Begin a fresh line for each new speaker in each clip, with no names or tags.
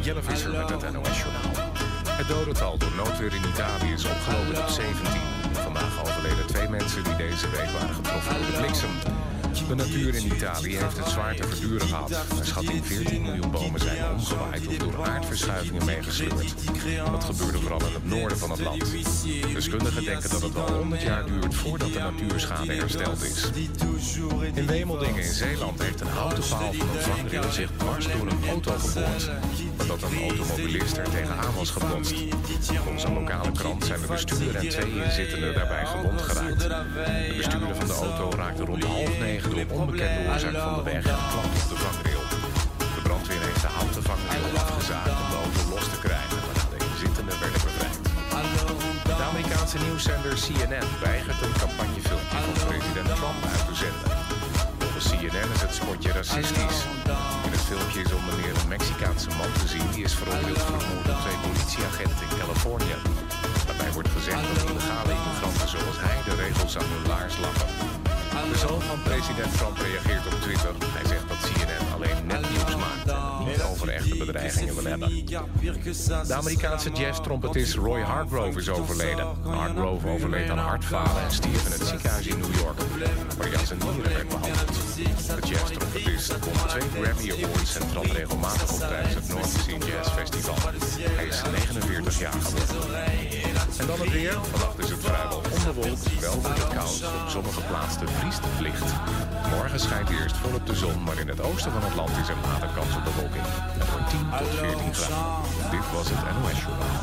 Jelle Visser met het NOS-journaal. Het dodental door noodweer in Italië is opgelopen tot 17. Vandaag overleden 2 mensen die deze week waren getroffen door de bliksem. De natuur in Italië heeft het zwaar te verduren gehad. Naar schatting 14 miljoen bomen zijn omgewaaid of door aardverschuivingen meegesleurd. Dat gebeurde vooral in het noorden van het land. Deskundigen denken dat het wel 100 jaar duurt voordat de natuurschade hersteld is. In Wemeldingen in Zeeland heeft een houten paal van een vangrail zich dwars door een auto geboord. Nadat een automobilist er tegenaan was gebotst. Volgens een lokale krant zijn de bestuurder en 2 inzittenden daarbij gewond geraakt. De bestuurder van de auto raakte rond 8:30 door onbekende oorzaak van de weg geklapt op de vangrail. De brandweer heeft de houten vangrail afgezaagd om de auto los te krijgen, waarna de inzittenden werden bevrijd. De Amerikaanse nieuwszender CNN weigert een campagnefilmpje van president Trump uit te zenden. Volgens CNN is het spotje racistisch. In het filmpje is onder meer een Mexicaanse man te zien die is veroordeeld voor het moord op 2 politieagenten in Californië. Daarbij wordt gezegd dat illegale immigranten zoals hij de regels aan hun laars lappen. De zoon van president Trump reageert op Twitter. Hij zegt dat CNN alleen nepnieuws maakt en het niet over echte bedreigingen wil hebben. De Amerikaanse jazz-trompetist Roy Hargrove is overleden. Hargrove overleed aan hartfalen en stierf in het ziekenhuis in New York, waar hij aan zijn nieren werd behandeld. De jazz-trompetist won 2 Grammy Awards en trad regelmatig op tijdens het North Sea Jazz Festival. Hij is 49 jaar geworden. En dan het weer. Vannacht is het vrijwel onbewolkt, wel wordt het koud. Op sommige plaatsen vriest het licht. Morgen schijnt eerst volop de zon, maar in het oosten van het land is er later kans op bewolking. Het wordt 10 tot 14 graden. Dit was het NOS Journaal.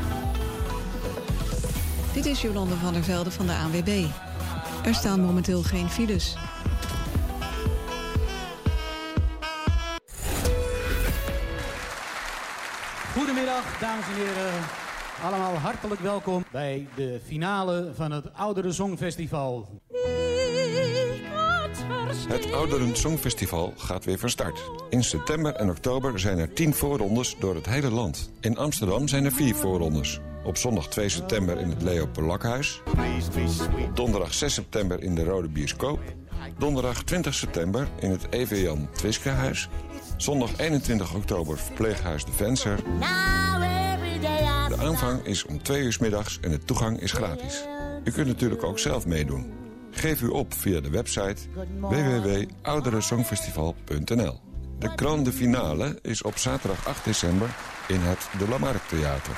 Dit is Jolande van der Velde van de ANWB. Er staan momenteel geen files.
Goedemiddag, dames en heren. Allemaal hartelijk welkom bij de finale van het Ouderen Songfestival.
Het Ouderen Songfestival gaat weer van start. In september en oktober zijn er 10 voorrondes door het hele land. In Amsterdam zijn er 4 voorrondes. Op zondag 2 september in het Leo Polakhuis. Donderdag 6 september in de Rode Bioscoop. Donderdag 20 september in het EV Jan Twiskehuis. Zondag 21 oktober verpleeghuis De Venser. De aanvang is om 2 uur 's middags en de toegang is gratis. U kunt natuurlijk ook zelf meedoen. Geef u op via de website www.ouderensongfestival.nl. De grande finale is op zaterdag 8 december in het De Lamarck Theater.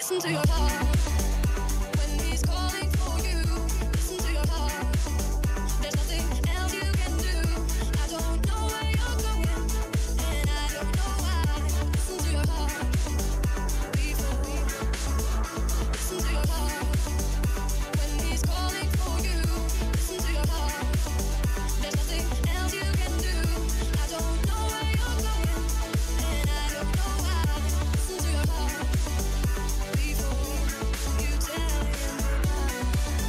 Listen to your heart. When he's calling for you, listen to your heart. There's nothing else you can do. I don't know where you're going, and I don't know why. Listen to your heart. Before, listen to your heart. When he's calling for you, listen to your heart. There's nothing else you can do. I don't know where you're going, and I don't know why. Listen to your heart. Before you tell him goodbye.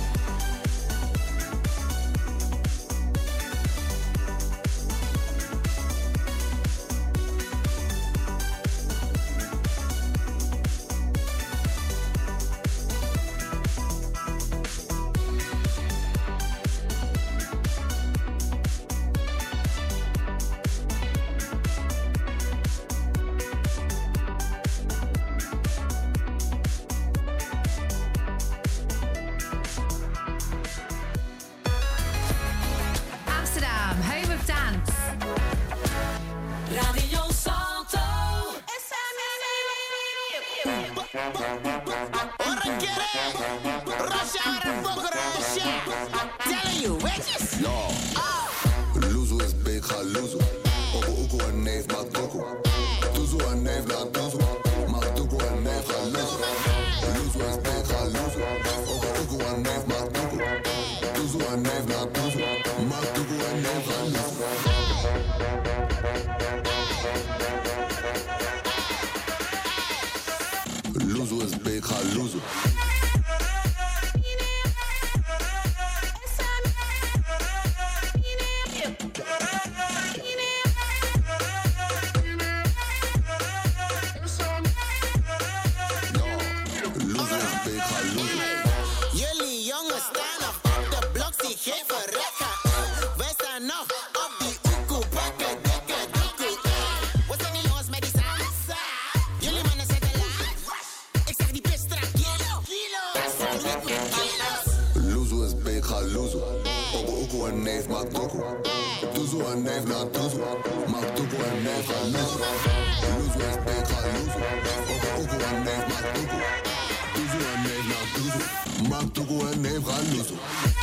Amsterdam, home of dance.
Radio Salto.
Telling you, witches. Luzu is big, ga luzu. Obo uku en neef maakt doku. Tuzu en neef laat tuzu. Maakt doku en neef ga luzu. Luzu is big, ga luzu. Obo uku en neef maakt doku. Tuzu en neef laat tuzu. Maakt doku en neef ga luzu. Luzu is big, ga luzu.
Jullie jongens staan nog op de blok, zie geen verrekken. Wij staan nog op die oekoe, bakken, dikke doekoe. Wat zijn die jongens met die salsa? Jullie mannen zetten laag. Ik zeg die pist strak, kilo. Dat zijn niet meer kilo's.
Luzu is big, ga luzu. Obo uku en neef maakt doku. Tuzu en neef laat tuzu. Maakt doku en neef ga luzu. Luzu is big, ga luzu. Obo uku en neef maakt doku. Tuzu en neef laat tuzu. Maakt doku en neef ga luzu.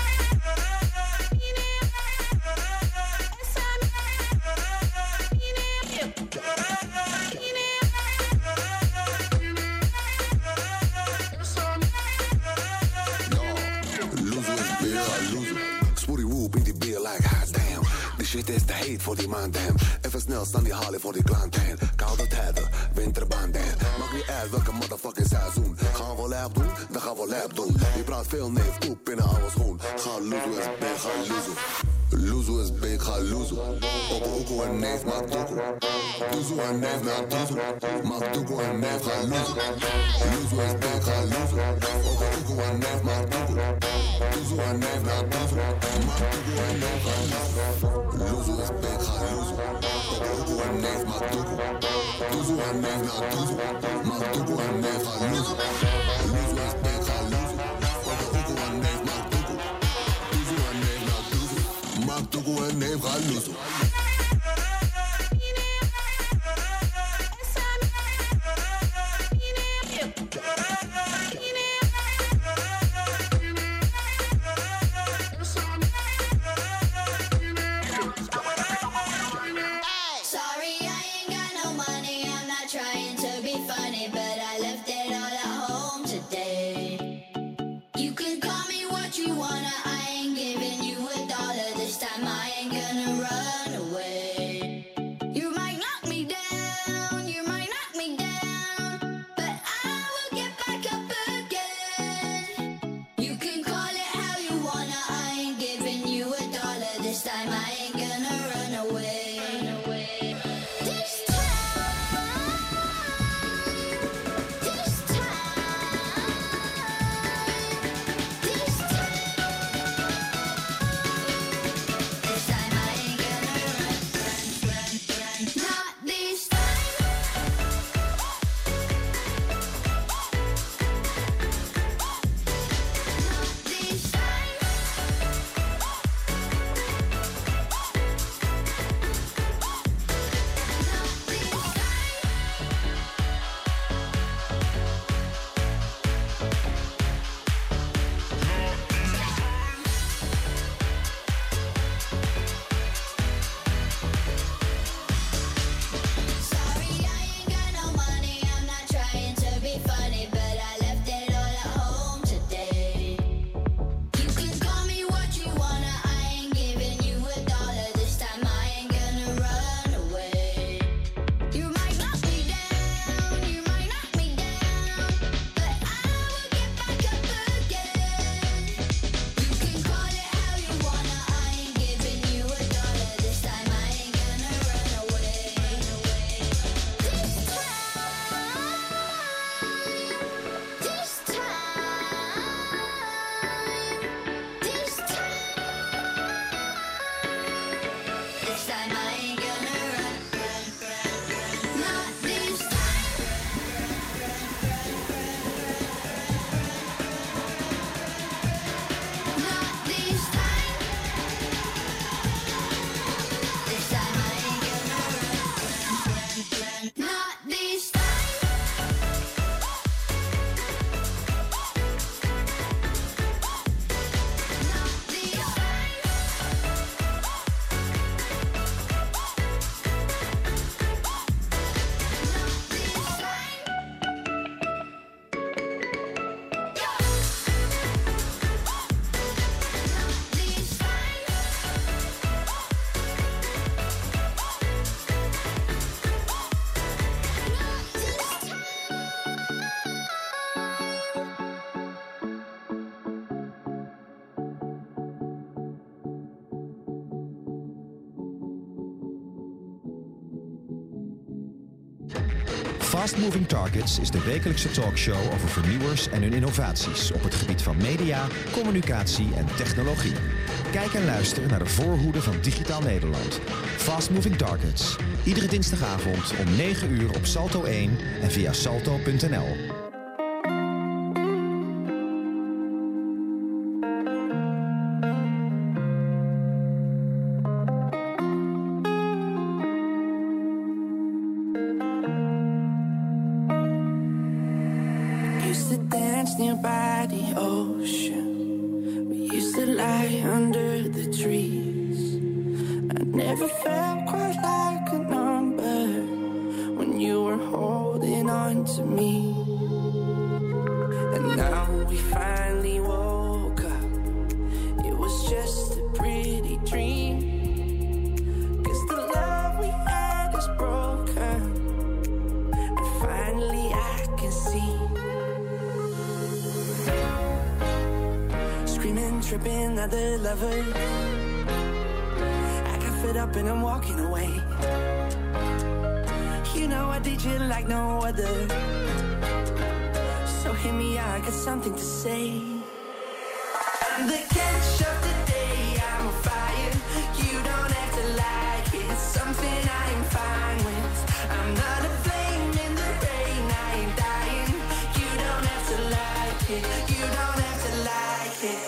Luzu is big, ga luzu. Spoorie woo, beat die beer like hot damn. Die shit is te heet voor die man damn. Even snel staan die halen voor die klanten. Koude tijden, winterbanden. Maakt niet uit welke motherfucking seizoen. Gaan we lap doen, dan gaan we lap doen. Je praat veel neef, koep in een oude schoen. Ga luzu is big, ga luzu. Luzu is big, ga luzu. Obo uku en neef maakt doku. Tuzu en neef laat tuzu. Maakt doku en neef ga luzu. Luzu is big, ga luzu. Obo uku en neef maakt doku. Tuzu en neef laat tuzu. Maakt doku en neef ga luzu. Luzu is big, ga luzu. Obo uku en neef maakt doku. Tuzu en neef laat tuzu. Maakt doku en neef ga luzu. Luzu is big, ga luzu. Obo uku en neef maakt doku. Tuzu en neef laat tuzu. Maakt doku en neef ga luzu.
Sorry, I ain't got no money. I'm not trying to be funny, but I left it all at home today. You can call me what you wanna. I ain't giving you $1 this time. I ain't gonna run these times. Not these times. Not these times. Not these times. Not this time.
Fast Moving Targets is de wekelijkse talkshow over vernieuwers en hun innovaties op het gebied van media, communicatie en technologie. Kijk en luister naar de voorhoede van Digitaal Nederland. Fast Moving Targets. Iedere dinsdagavond om 9 uur op Salto 1 en via salto.nl.
Used to dance nearby the ocean. We used to lie under the trees. I never felt quite like a number when you were holding on to me. And now we finally woke up. It was just a pretty dream. 'Cause the love we had is broken. And finally I can see. Screaming, tripping, other lovers. I got fed up and I'm walking away. You know I did you like no other. So hear me out, I got something to say. I'm the catch of the day, I'm on fire. You don't have to like it, it's something I am fine with. I'm not a flame in the rain, I ain't dying. You don't have to like it, you don't have to like it.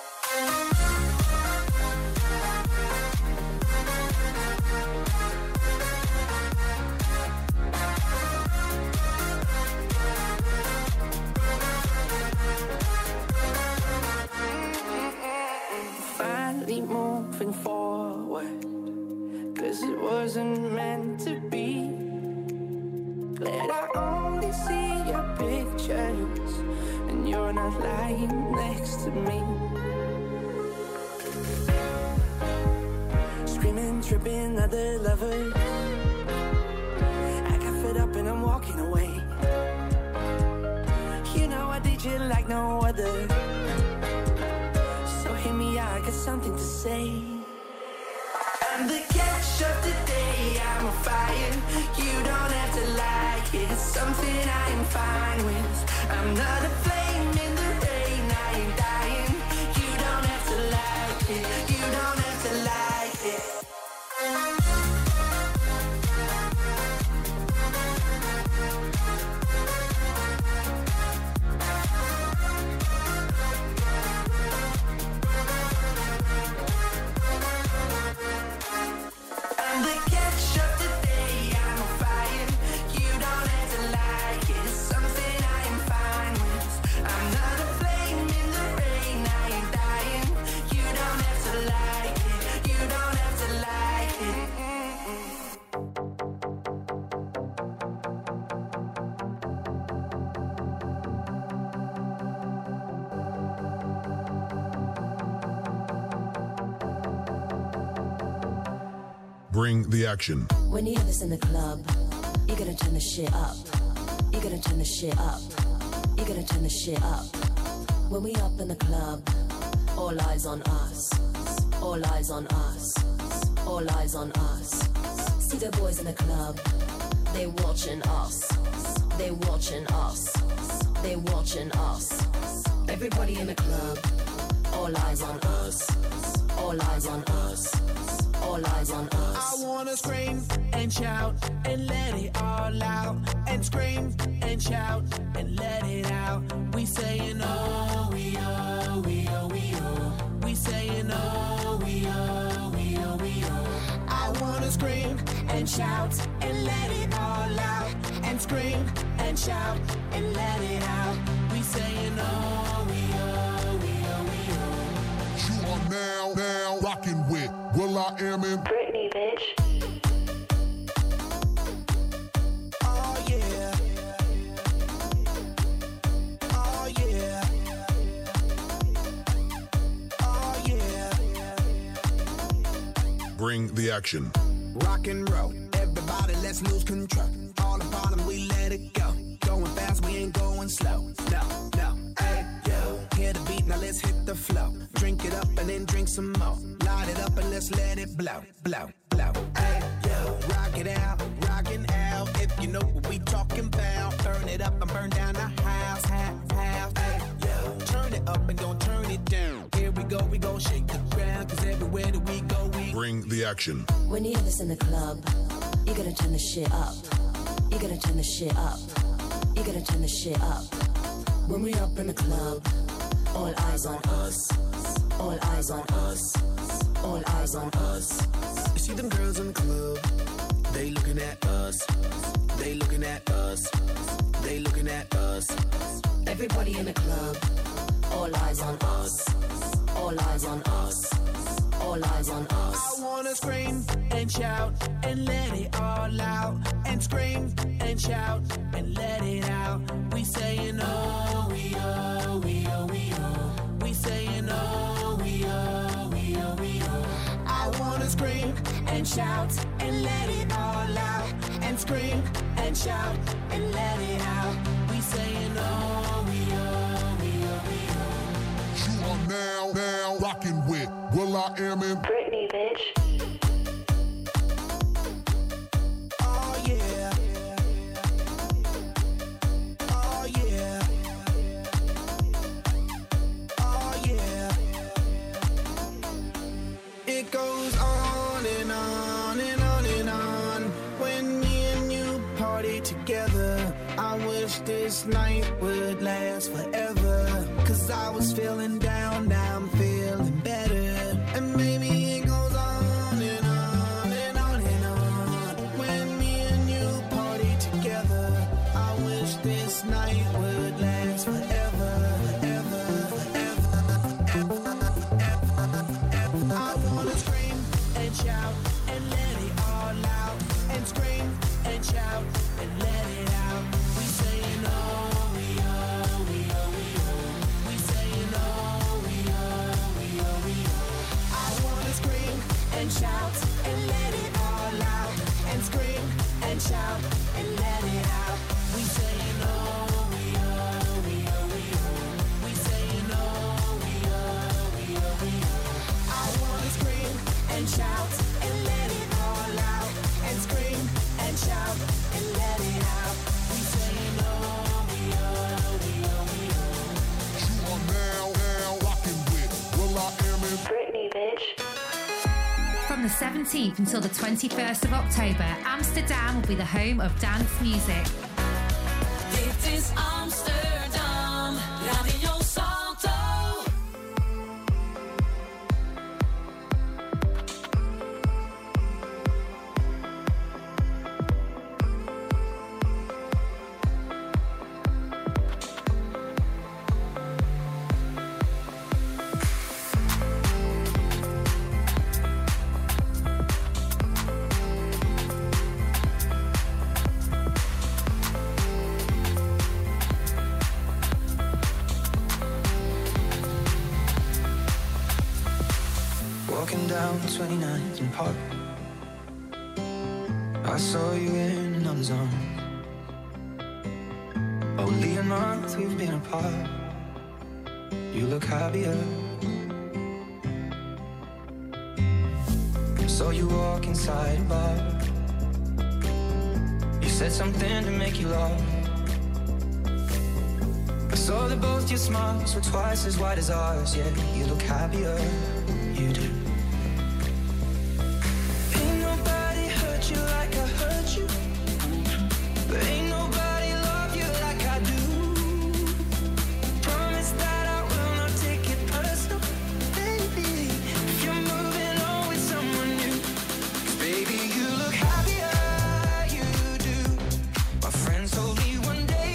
Finally moving forward, 'cause it wasn't meant to be. Glad I only see your pictures, and you're not lying next to me. Screaming, tripping, other lovers. I got fed up and I'm walking away. You know I did you like no other. So hear me out, I got something to say. I'm the catch of the day, I'm on fire. You don't have to like it, it's something I am fine with. I'm not a flame in the rain, I ain't dying. You don't have to like it, you don't have to like it. I'm the catch of the day, I'm on fire. You don't have to like it, it's something I am fine with. I'm not a flame in the rain, I ain't dying. You don't have to like it, you don't have to like it.
Bring the action.
When you hear this in the club, you're gonna turn the shit up. You're gonna turn the shit up. You're gonna turn the shit up. When we up in the club, all eyes on us. All eyes on us. All eyes on us. See the boys in the club, they watching us. They watching us. They watching us. Everybody in the club, all eyes on us. All eyes on us. All eyes on us.
I wanna scream and shout and let it all out. And scream and shout and let it out. We saying oh, we oh, we oh, we oh. We saying oh, we oh, we oh, we oh. I wanna scream and shout and let it all out. and shout and let it out. We saying oh, we oh, we oh, we oh.
You are now rocking with will.i.am in
Britney, bitch.
Oh yeah. Oh yeah. Oh yeah.
Bring the action.
Rock and roll, everybody let's lose control. All the bottom we let it go. Going fast, we ain't going slow. No, no, hey, yo. Hear the beat, now let's hit the flow. Drink it up and then drink some more. Light it up and let's let it blow, blow, blow. Hey, yo. Rock it out, rockin' out. If you know what we talking about. Burn it up and burn down the house, house. Hey, yo. Turn it up and don't turn it down. Here we go, shake the ground. Cause everywhere that we go, we
Bring the action.
When you hear this in the club, you gotta turn the shit up. You gotta turn the shit up. You gotta turn the shit up. When we up in the club, all eyes on us. All eyes on us. All eyes on us.
You see them girls in the club, they looking at us. They looking at us. They looking at us.
Everybody in the club, all eyes on us. All eyes on us. All eyes on us.
I wanna scream and shout and let it all out. And scream and shout and let it out. We saying oh, we oh, we oh, we oh. We saying oh, we oh, we oh, we oh. I wanna scream and shout and let it all out. And scream and shout and let it out. We saying oh, we oh, we oh, we oh.
You are now rocking with will.i.am in
Britney, bitch.
Oh yeah. Oh yeah. Oh yeah.
It goes on and on and on and on. When me and you party together, I wish this night would last forever. Cause I was feeling down, now I'm feeling better. And maybe it goes on and on and on and on. When me and you party together, I wish this night would last forever, forever, forever, forever, forever.
I wanna scream and shout and let it all out. And scream and shout and let it out. We saying oh, we oh, we oh, we oh. We saying oh, we oh, we oh, we oh. I wanna scream and shout and let it all out. And scream and shout and let it out. We saying oh, we oh, we oh, we oh. We saying oh, we oh, we oh, we oh. I wanna scream and shout and let it all out. And scream and shout and let it out. We saying oh, we oh, we oh, we oh.
You are now rocking with will.i.am in
Britney, bitch.
From the 17th until the 21st of October, Amsterdam will be the home of dance music.
Dit is Amsterdam, Radio Salto.
Walking down 29th and Park, I saw you in another's arms. Only a month we've been apart. You look happier. Saw you walk inside a bar. You said something to make you laugh. I saw that both your smiles were twice as wide as ours. Yeah, you look happier. You do. Ain't nobody hurt you like I hurt you. But ain't nobody love you like I do. Promise that I will not take it personal, baby. If you're moving on with someone new, 'cause baby, you look happier, you do. My friends told me one day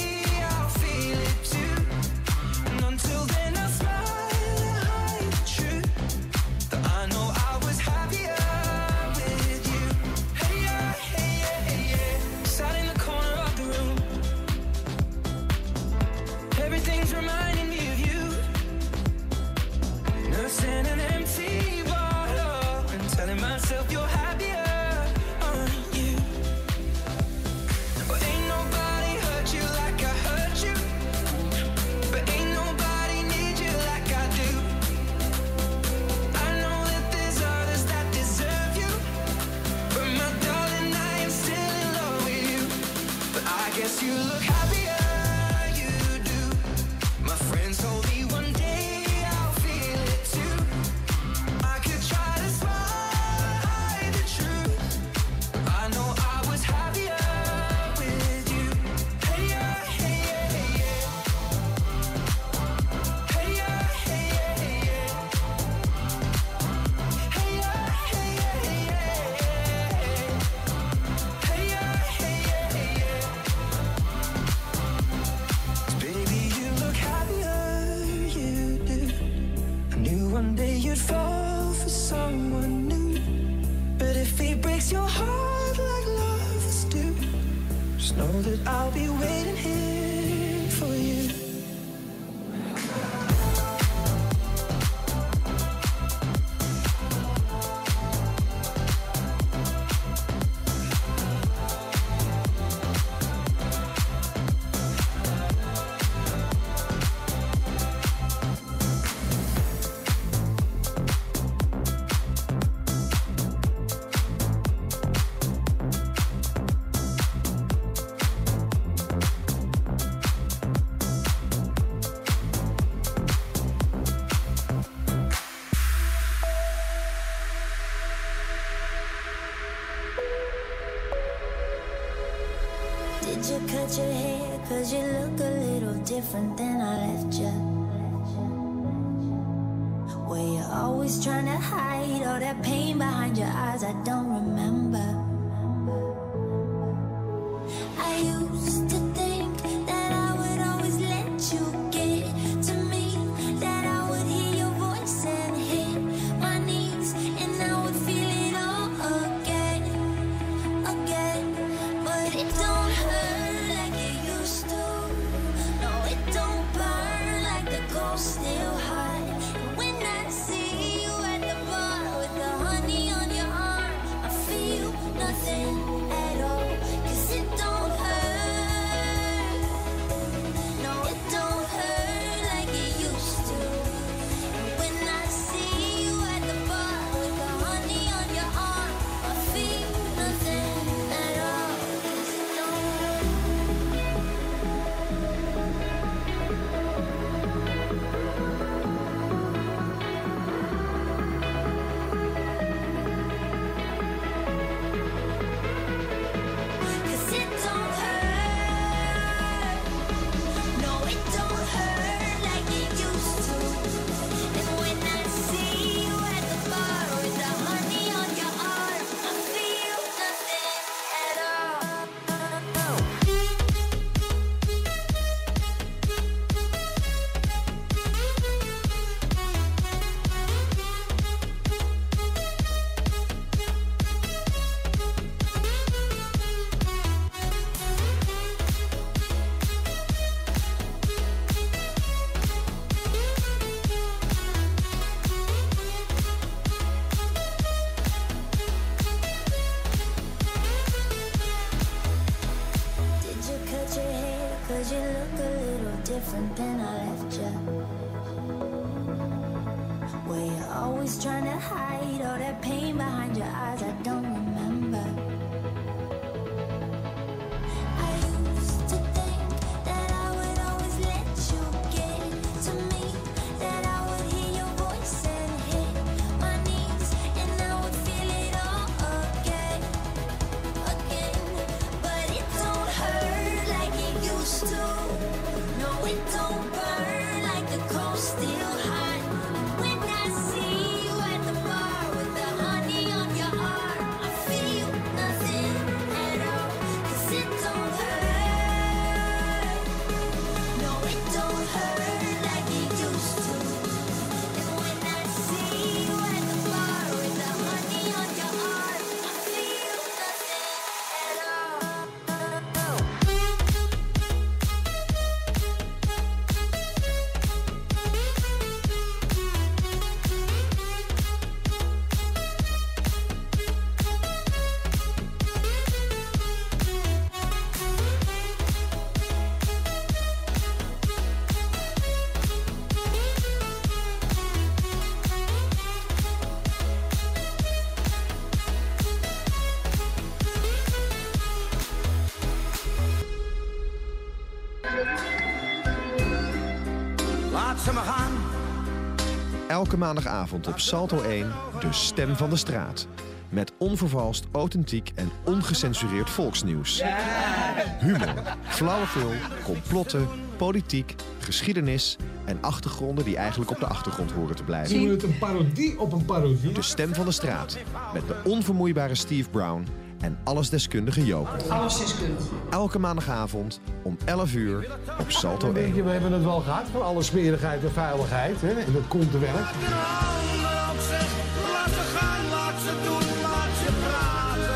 happier you do. My friends told me one day I'll feel it too. I could try to smile, hide the truth. I know I was happier with you. Hey yeah, hey yeah, hey yeah. Hey yeah, hey yeah, hey yeah. Hey yeah, hey yeah, hey yeah. Hey yeah, hey yeah, hey yeah. Baby, you look happier, you do. I knew one day you'd fall for someone new. But if he breaks your heart like lovers do, just know that I'll be waiting here for you.
Did you cut your hair? 'Cause you look a little different than I left you. Were you always trying to hide all that pain behind your eyes? I don't remember. I used to think that I would always let you get to me, that I would hear your voice and hit my knees, and I would feel it all again. But it don't hurt like it used to. No, it don't burn like the ghost still hot. When I see you at the bar with the honey on your arm, I feel nothing at all. 'Cause it don't hurt. No, it don't hurt like it used to. When I see you at the bar with the honey on your arm, I feel nothing at all. 'Cause it don't hurt. Cause it don't hurt. No, it don't hurt like it used to. And when I see you at the bar with the honey on your arm, I feel nothing at all. Did you cut your hair? 'Cause you look a little different than I left you. Were you always trying to hide all that pain behind your eyes? I don't remember. I used to think that I would always let you get to me, that I would hear your voice and hit my knees, and I would feel it all again. But it don't hurt like it used to. No, it don't burn like the cold still hot. When I see you at the bar with the honey on your arm, I feel nothing.
Laat ze maar gaan.
Elke maandagavond op Salto 1, de stem van de straat. Met onvervalst, authentiek en ongecensureerd volksnieuws. Humor, flauwekul, complotten, politiek, geschiedenis en achtergronden die eigenlijk op de achtergrond horen te blijven.
Zien we het een parodie op een parodie?
De stem van de straat. Met de onvermoeibare Steve Brown en allesdeskundige Joop.
Allesdeskundig.
Elke maandagavond om 11 uur op Salto 1.
We hebben het wel gehad van alle smerigheid en vuiligheid. Hè? En dat komt te werk.
Laat ze gaan, laat ze doen, laat ze praten.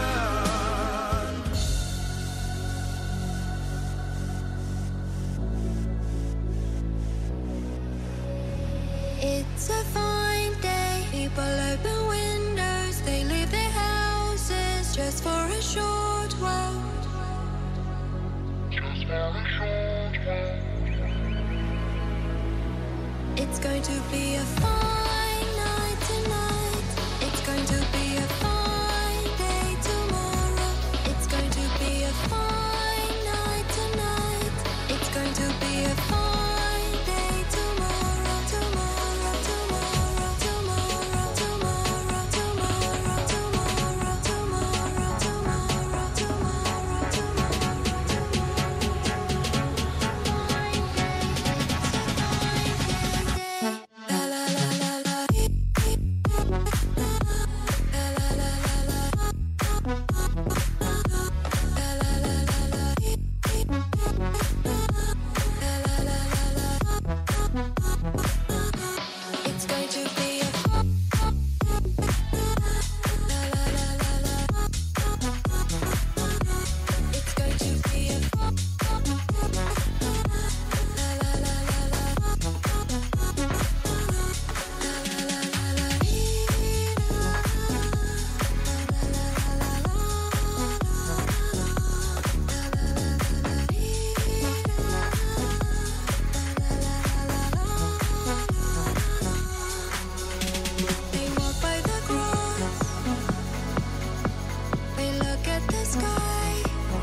It's a fine day. People open windows. They leave their houses just for a short while. Just for a short while. It's going to be a fine night tonight. It's going to be a fine day tomorrow. It's going to be a fine night tonight. It's going to be a fine day tomorrow. Tomorrow, tomorrow, tomorrow, tomorrow, tomorrow, tomorrow, tomorrow, tomorrow, tomorrow, It's going to be a It's going to be a They walk by the cross. They look at the sky.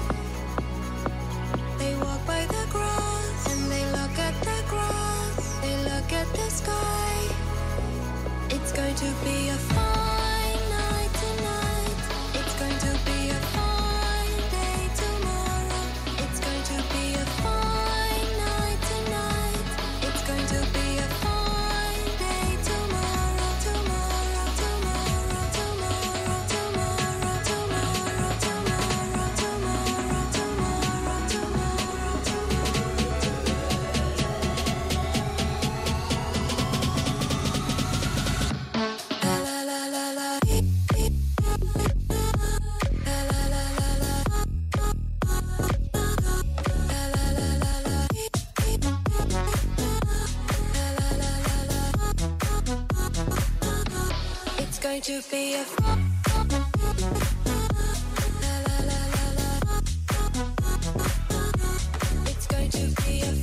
They walk by the grass and they look at the grass. They look at the sky. It's going to be a fine night tonight. It's going to be a fine day tomorrow. It's going to be a fine night tonight. It's going to be a fine day tomorrow. Tomorrow, tomorrow, tomorrow, tomorrow, tomorrow, tomorrow, tomorrow, tomorrow, It's going to be a It's going to be a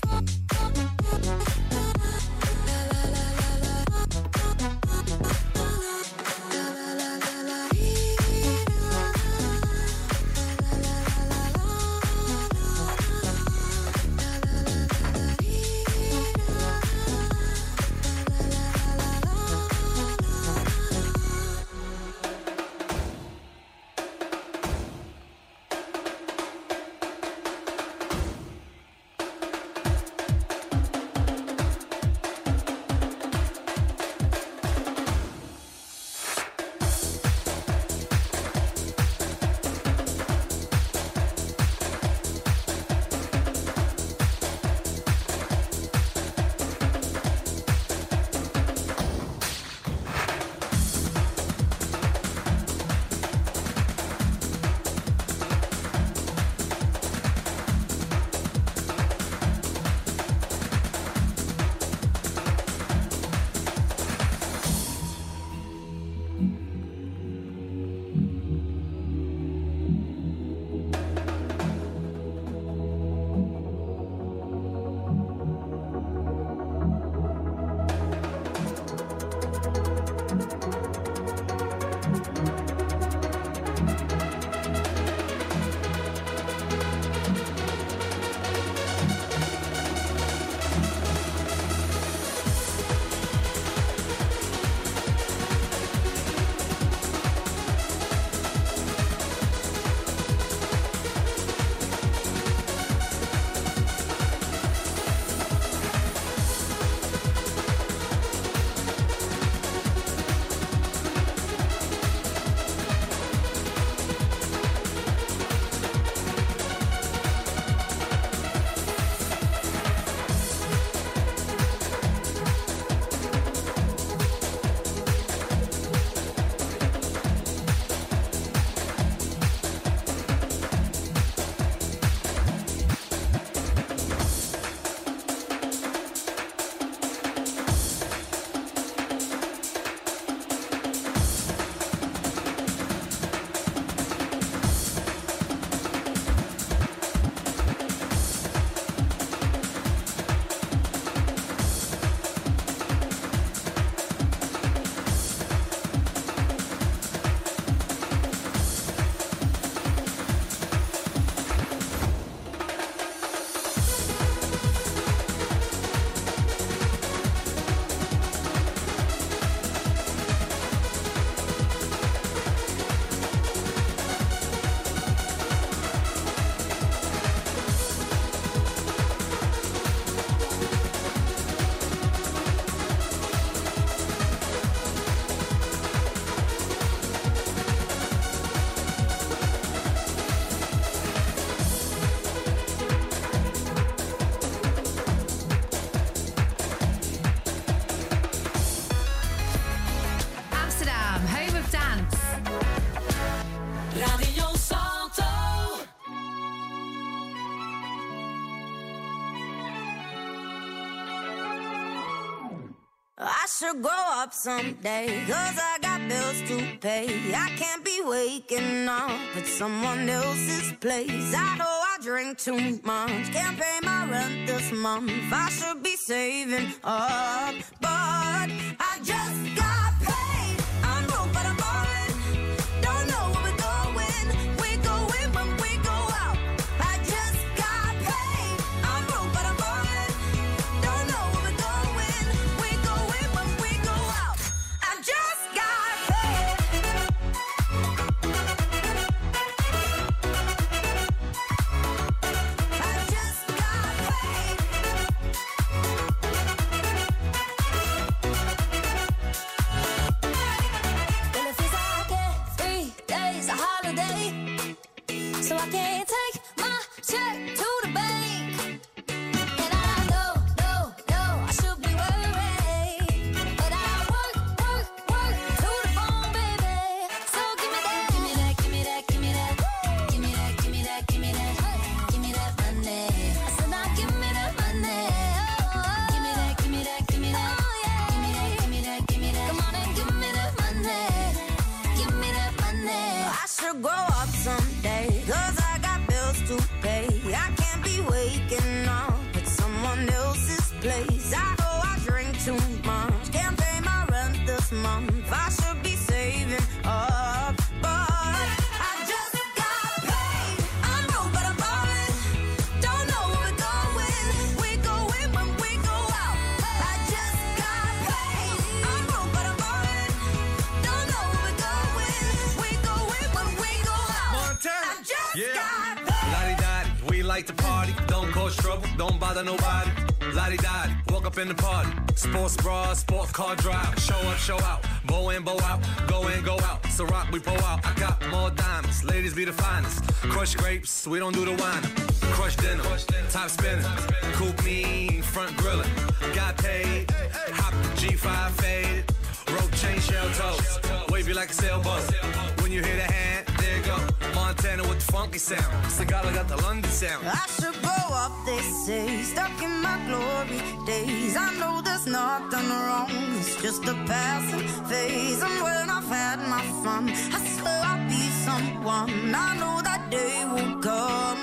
I should grow up someday, 'cause I got bills to pay. I can't be waking up at someone else's place. I know I drink too much, can't pay my rent this month. I should be saving up, but I just got paid. I'm broke but I'm ballin', don't know where we're going. We go in when we go out. I just got paid. I'm broke but I'm ballin', don't know where we're going. We go in when we go out. I just got paid. I just got paid.
Well, it feels like every day's a holiday, so I can't take my check to the bank. And I know, I should be worried, but I work to the bone, baby. So give me that, give me that, give me that, give me that, give me that, give me that, give me that, give me that money. I said now give me that money. Give me that, give me that, give me that, give me that, give me that, give me that. Come on and give me that money. Give me that money.
I should grow up someday, 'cause I got bills to pay. I can't be waking up at someone else's place. I know I drink too much, can't pay my rent this month. I should be saving up, but I just got paid. I'm broke but I'm ballin', don't know where we're going. We go in when we go out. I just got paid. I'm broke but I'm ballin', don't know where we're going. We go in when we go out.
Montana.
I just
Yeah.
got paid.
Lottie-dottie, we like to party. Don't cause trouble, don't bother nobody. Lottie-dottie, walk up in the party. Sports bra, sports car drive. Show up, show out. Bow in, bow out. Go in, go out. So rock, we pull out. I got more diamonds. Ladies be the finest. Crush grapes, we don't do the wine. Crush dinner, top spinning. Coupe me, front grilling. Got paid, hop the G5 faded. Rope chain, shell toes. Wavy like a sailboat. When you hear the hand, there you go. Montana with the funky sound. Sagala got the London sound.
I should grow up, they say, stuck in my glory days. I know there's nothing wrong, it's just a passing phase. And when I've had my fun, I swear I'll be someone. I know that day will come,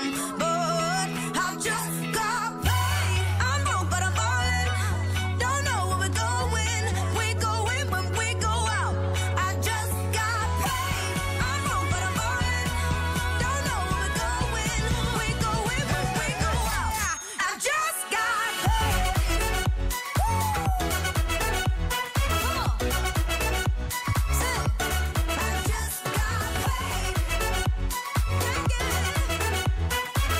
but I just got paid. I'm broke but I'm ballin', don't know where we're going. We go in when we go out. I just got paid. I'm broke but I'm ballin', don't know where we're going. We go in when we go out. I just got paid. I just got paid.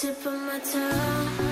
tip of my tongue.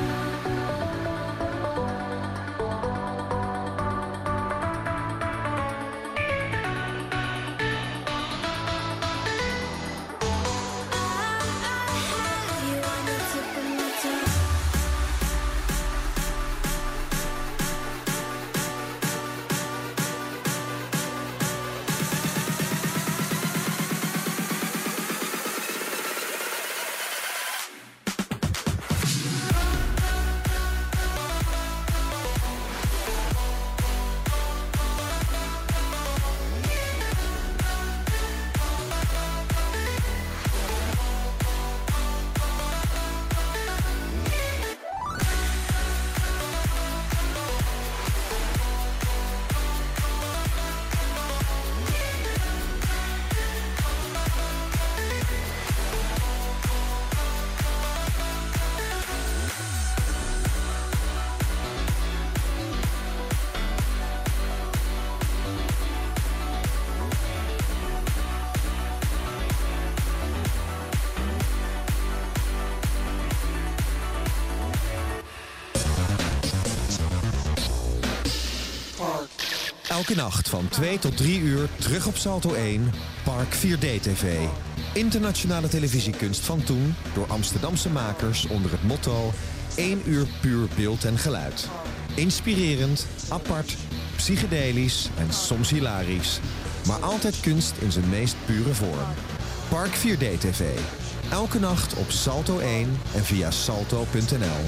Elke nacht van 2 tot 3 uur terug op Salto 1, Park 4D TV. Internationale televisiekunst van toen door Amsterdamse makers onder het motto 1 uur puur beeld en geluid. Inspirerend, apart, psychedelisch en soms hilarisch. Maar altijd kunst in zijn meest pure vorm. Park 4D TV. Elke nacht op Salto 1 en via salto.nl.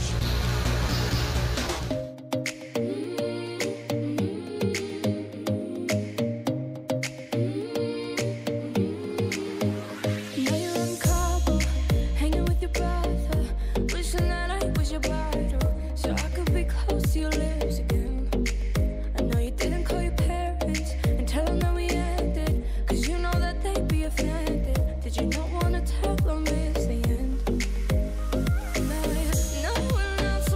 No one else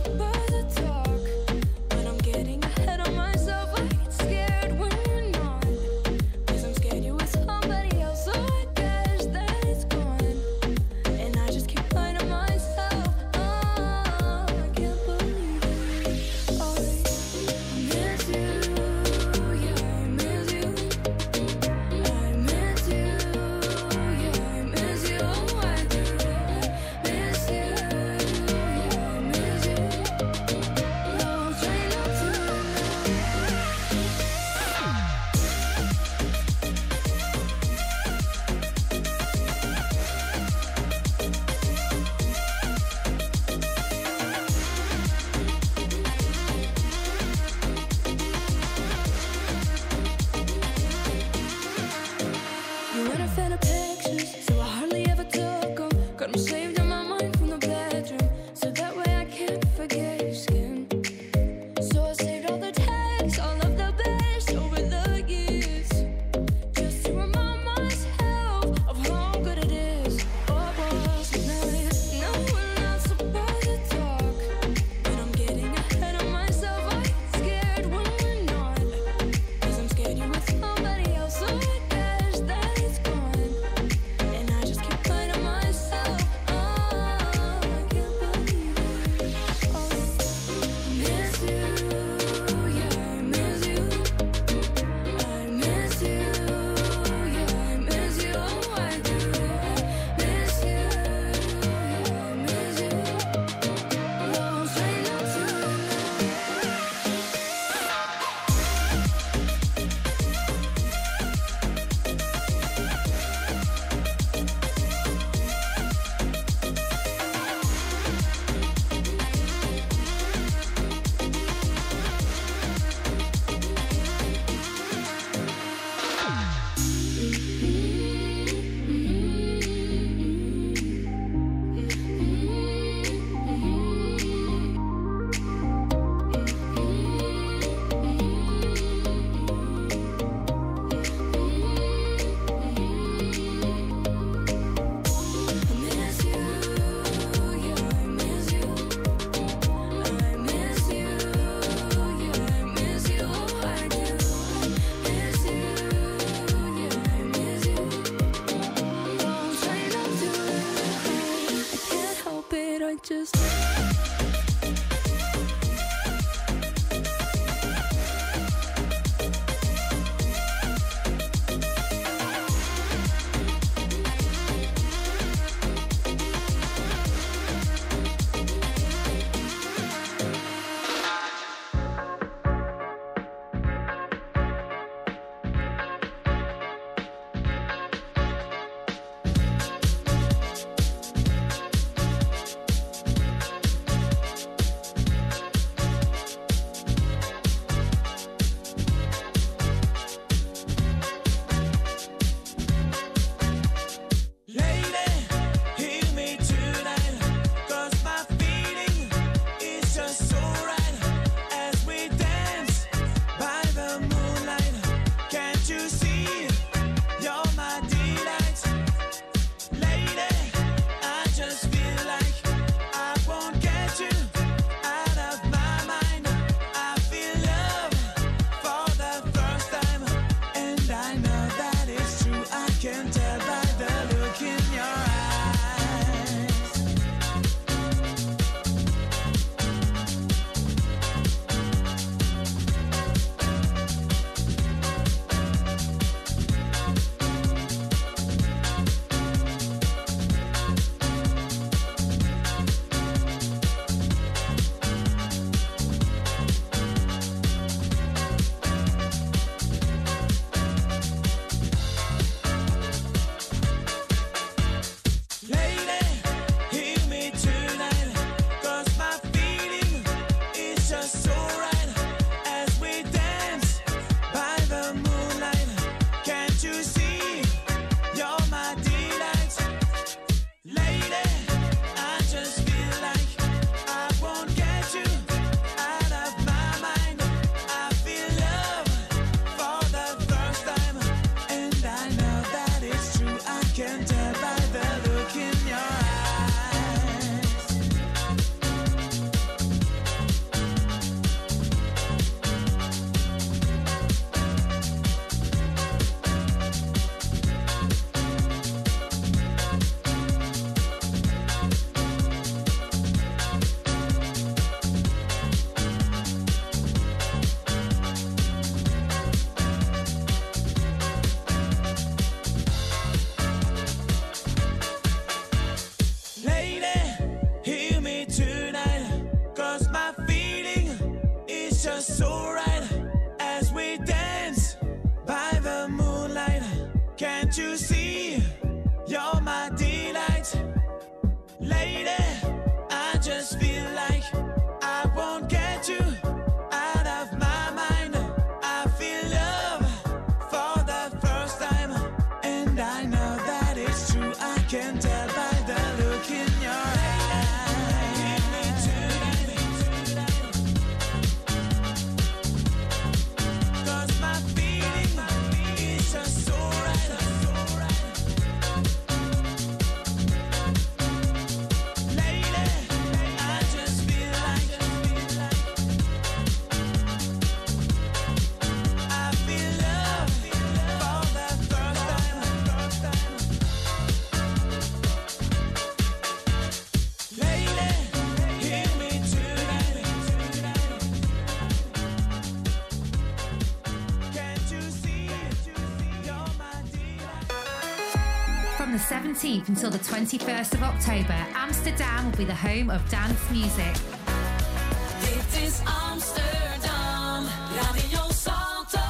From the 17th until the 21st of October, Amsterdam will be the home of dance music.
Dit is Amsterdam, Radio Salto.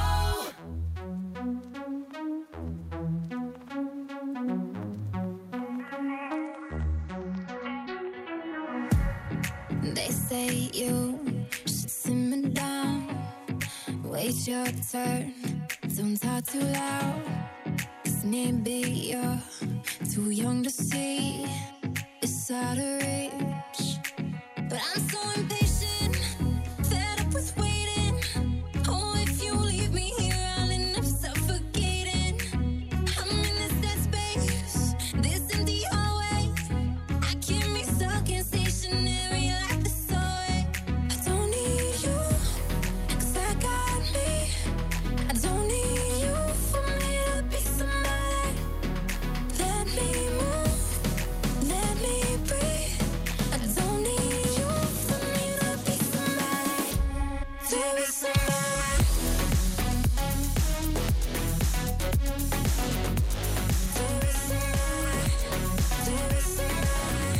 They say you should simmer down, wait your turn, don't talk too loud, 'cause maybe you're too young to see it's out of reach. But I'm so impatient, fed up with waiting. Oh, if you leave me here, I'll end up suffocating. I'm in this dead space, this empty hallway. I can't be stuck in stationary like the subway. I don't need you, 'cause I got me. I don't need you for me to be somebody. Let me move, let me breathe. I don't need you for me to be somebody. To be somebody. To be somebody. To be somebody.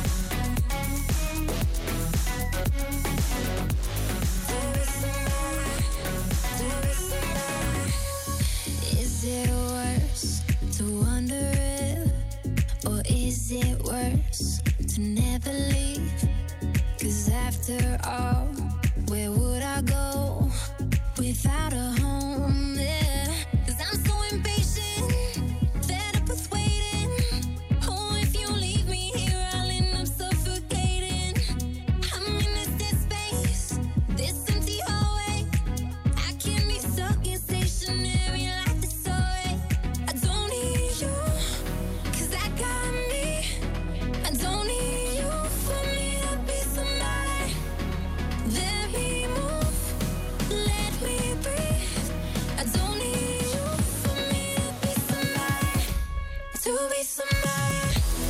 To be somebody. To be somebody. Is it worse to wonder if, or is it worse to never leave? 'Cause after all, where would I go without a home? Yeah. 'Cause I'm so impatient, fed up with waiting. Oh, if you leave me here, I'll end up suffocating. I'm in this dead space, this empty hallway. I can't be stuck in stationary like the subway. I don't need you, 'cause I got me. I don't need you for me to be somebody. Let me move, let me breathe. I don't need you for me to be somebody. To be somebody.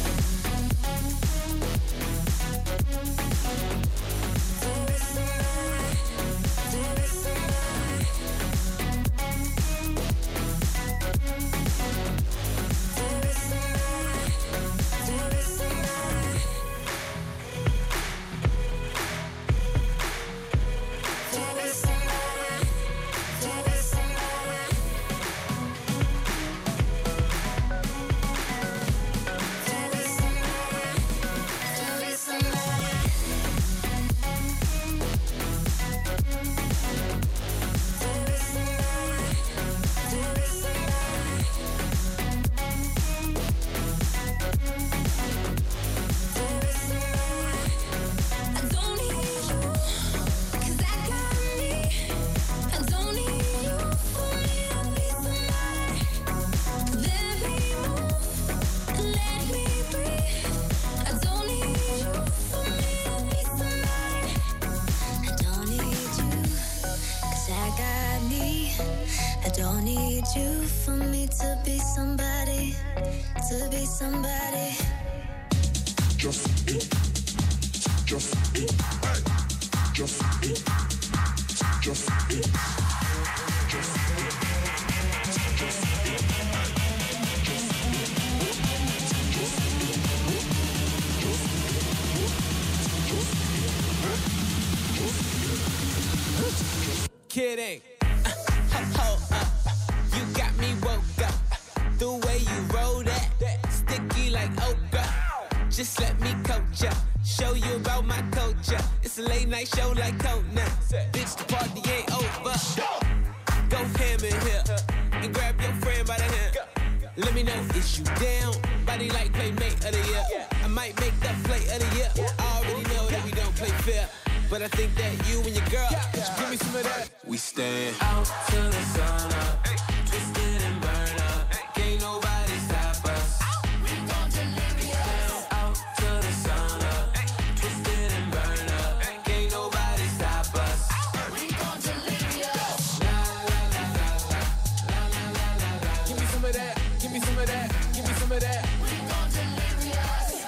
To be somebody. To be somebody. To be somebody. To be somebody. To be somebody. To be somebody. To be somebody. To be somebody. To be somebody. To be somebody. To be somebody. I don't need you, 'cause I got me. I don't need you for me to be somebody. Let me move, let me breathe. I don't need you for me to be somebody. I don't need you, 'cause I got me. I don't need you for me to be somebody. To be somebody.
Just it. Just it. Hey. Just it. Just it. Just it. Just it.
Kidding. Hold up. You got me woke up. The way you roll that, sticky like okra. Just let me coach ya, show you about my culture. It's a late night show like Conan. Bitch, the party ain't over. Go ham in here and grab your friend by the hand. Let me know, is you down? Body like playmate of the year. I might make that play of the year. I already know that we don't play fair, but I think that you and your girl should give me some of that. We stand out till the sun up, twisted and burn up. Can't nobody stop us. We gon' deliver ya. Out till the sun up, twisted and burn up. Can't nobody stop us. We gon' deliver ya. La la la la la la la la la. Give me some of that. Give me some of that. Give me some of that. We gon' deliver ya.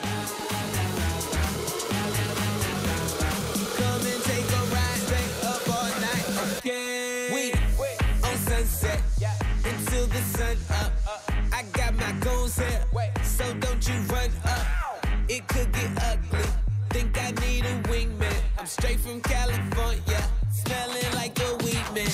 Come and take a ride, stay up all night, okay? We on sunset until the sun up. I got my goals here. could get ugly. Think I need a wingman. I'm straight from California, smelling like a weed man.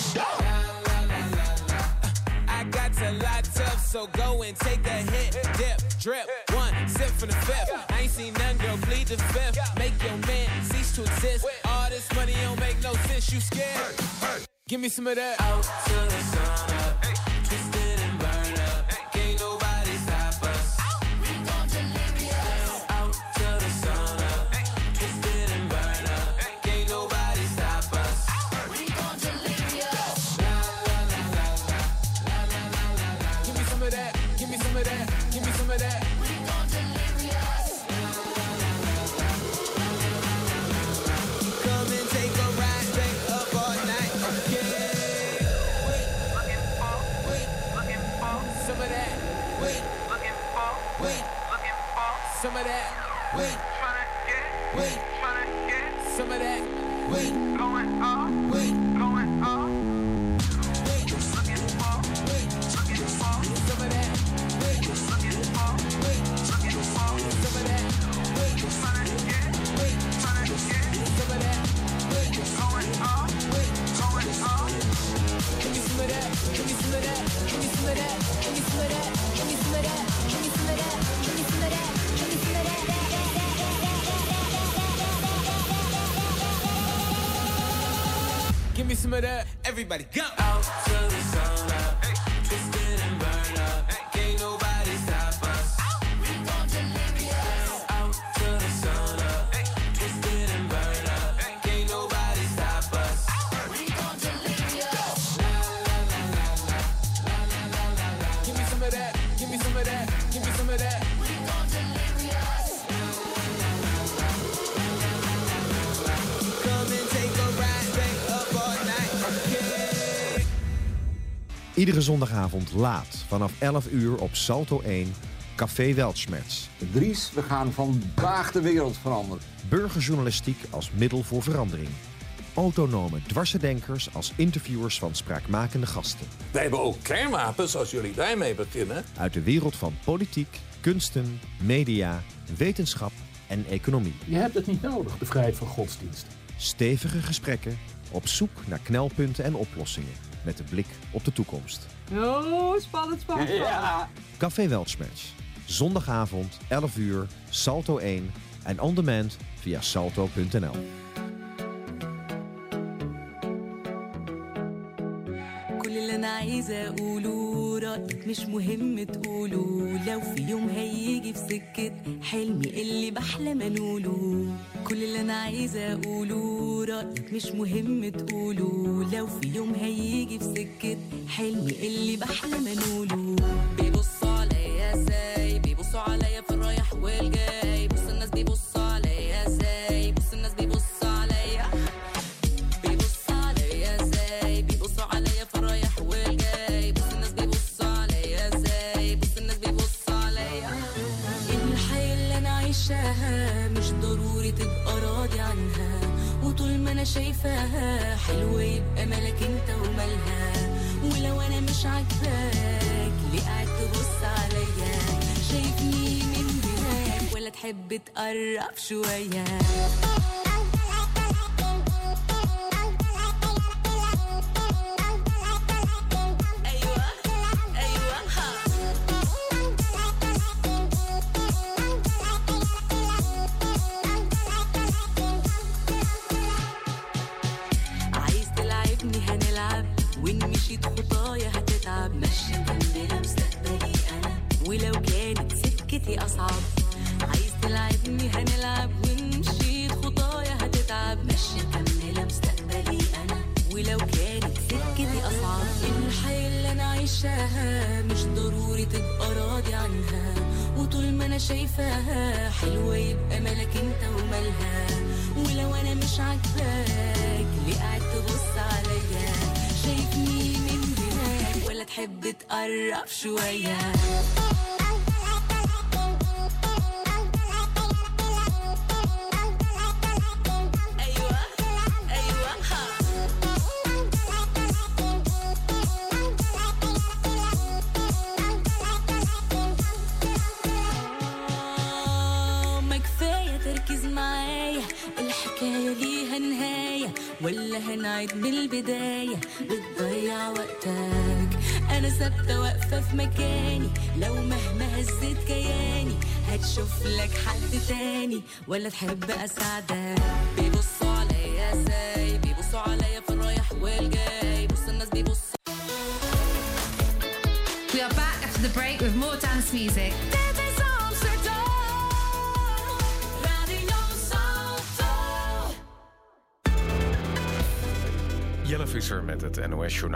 I got to lots up, so go and take a hit. Dip, drip, one sip from the fifth. I ain't seen none, girl, bleed the fifth. Make your man cease to exist. All this money don't make no sense, you scared? Give me some of that. Out to the sun up, twisted and burn up. Can't nobody stop us. We gon' delirious. Out to the sun up, twisted and burn up. Can't nobody stop us. We gon' delirious. La la la la la la la la la la. Give me some of that. Give me some of that. Give me some of that. We gon' delirious. Come and take a ride, stay up all night, okay? Wait, looking for some of that. Wait, looking for some of that. Wait, wait, some of that. Wait, going off. Wait, going off. Wait, looking for some of that. Wait, looking for some of that. Wait, trying to get some of that. Wait, going off. Wait, going off. Give me some of that. Give me some of that. Give me some of that. Give me some of that. Give me some of that. Give me some of that. Give me some of that. Give me some of that. Give me some of that. Everybody go. Out to the sun up, twisted and burn up. Can't nobody stop us. We gon' delirious. Out to the sun up, twisted and burn up. Can't nobody stop us. We gon' delirious. La la la la la la la la la la. Give me some of that. Give me some of that. Give me some of that. We gon' delirious. Come and take a ride, stay up all night, okay?
Iedere zondagavond laat vanaf 11 uur op Salto 1, Café Weltschmerz.
Dries, we gaan vandaag de wereld veranderen.
Burgerjournalistiek als middel voor verandering. Autonome dwarsendenkers als interviewers van spraakmakende gasten.
Wij hebben ook kernwapens als jullie daarmee beginnen.
Uit de wereld van politiek, kunsten, media, wetenschap en economie.
Je hebt het niet nodig, de vrijheid van godsdienst.
Stevige gesprekken op zoek naar knelpunten en oplossingen. Met de blik op de toekomst.
Oh, spannend, spannend.
Ja.
Café Weltschmerz. Zondagavond, 11 uur, Salto 1 en on demand via salto.nl.
كل اللي انا عايزه اقوله رايك مش مهم تقوله لو في يوم هيجي في سكه حلمي اللي بحلم انوله كل اللي انا عايزه اقوله رايك مش مهم تقوله لو في يوم هيجي في سكه حلمي اللي بحلم انوله بيبصوا عليا ازاي بيبصوا عليا في الرايح والجاي بص الناس بيبصوا عليا ازاي بص الناس بيبصوا عليا بيبصوا عليا ازاي بيبصوا عليا في الرايح والجاي بص الناس بيبصوا عليا ازاي بص الناس بيبصوا عليا الحياة اللي انا عايشاها مش ضروري تبقى راضي عنها وطول ما انا شايفاها حلوة يبقى مالك انت ومالها ولو انا مش عاجباك ليه قاعد تبص عليا شايفني من هناك ولا تحب تقرب شوية عايز تلعبني هنلعب وإن مشيت خطايا هتتعب ماشي مكملة مستقبلي أنا ولو كانت سكتي أصعب عايز تلعبني هنلعب وإن مشيت خطايا هتتعب ماشي مكملة مستقبلي أنا ولو كانت سكتي أصعب الحياة اللي أنا عايشاها مش ضروري تبقى راضي عنها وطول ما أنا شايفاها حلوة يبقى مالك أنت ومالها ولو أنا مش عاجباك ليه قاعد تبص عليا شايفني من هناك ولا تحب تقرب شوية ما كفاية
معاك بالبداية بتضيع وقتك. أنا ثابتة واقفة في مكاني، لو مهما هزيت كياني هتشوف لك حد تاني ولا تحب أساعدك. بيبصوا عليا ازاي، بيبصوا عليا في الرايح والجاي، بص الناس بيبصوا.
We are back after the break with more dance music.
Jelle Visser met het NOS Journaal.